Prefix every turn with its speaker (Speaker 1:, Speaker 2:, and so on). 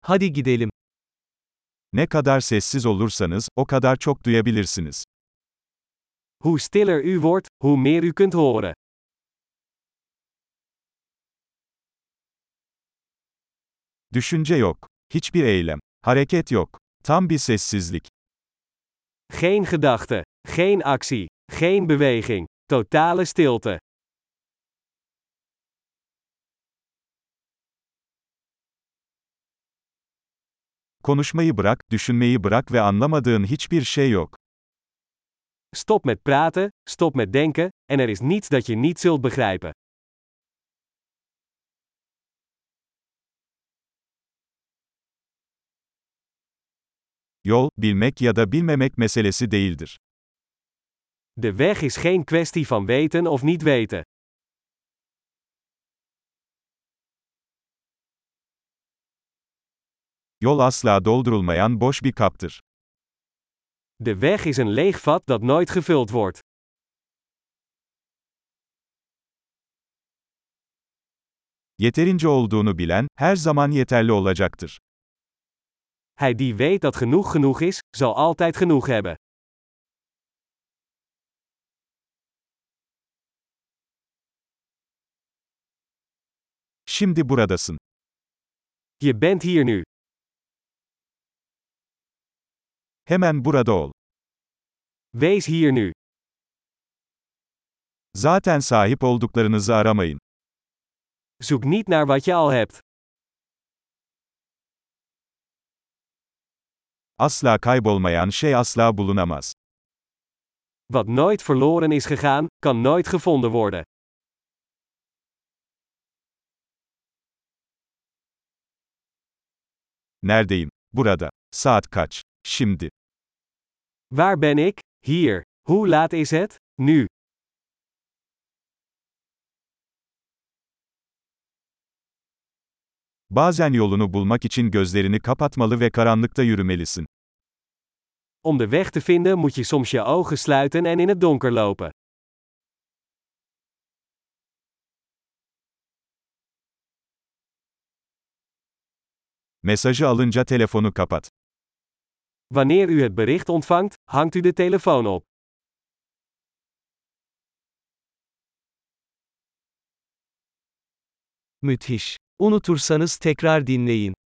Speaker 1: Hadi gidelim.
Speaker 2: Ne kadar sessiz olursanız, o kadar çok duyabilirsiniz.
Speaker 1: Hoe stiller u wordt, hoe meer u kunt horen.
Speaker 2: Düşünce yok. Hiçbir eylem. Hareket yok. Tam bir sessizlik.
Speaker 1: Geen gedachte, geen actie, geen beweging, totale stilte.
Speaker 2: Konuşmayı bırak, düşünmeyi bırak ve anlamadığın hiçbir şey yok.
Speaker 1: Stop met praten, stop met denken, en er is niets dat je niet zult begrijpen.
Speaker 2: Yol, bilmek ya da bilmemek meselesi değildir.
Speaker 1: De weg is geen kwestie van weten of niet weten.
Speaker 2: Yol asla doldurulmayan boş bir kaptır.
Speaker 1: De weg is een leeg vat dat nooit gevuld wordt.
Speaker 2: Yeterince olduğunu bilen, her zaman yeterli olacaktır.
Speaker 1: Hij die weet dat genoeg is, zal altijd genoeg hebben.
Speaker 2: Şimdi buradasın.
Speaker 1: Je bent hier nu.
Speaker 2: Hemen burada ol.
Speaker 1: Wees hier nu.
Speaker 2: Zaten sahip olduklarınızı aramayın.
Speaker 1: Zoek niet naar wat je al hebt.
Speaker 2: Asla kaybolmayan şey asla bulunamaz.
Speaker 1: Wat nooit verloren is gegaan, kan nooit gevonden worden.
Speaker 2: Neredeyim? Burada. Saat kaç? Şimdi.
Speaker 1: Waar ben ik? Hier. Hoe laat is het? Nu.
Speaker 2: Bazen yolunu bulmak için gözlerini kapatmalı ve karanlıkta yürümelisin.
Speaker 1: Om de weg te vinden moet je soms je ogen sluiten en in het donker lopen.
Speaker 2: Mesajı alınca telefonu kapat.
Speaker 1: Wanneer u het bericht ontvangt, hangt u de telefoon op. Müthiş. Unutursanız tekrar dinleyin.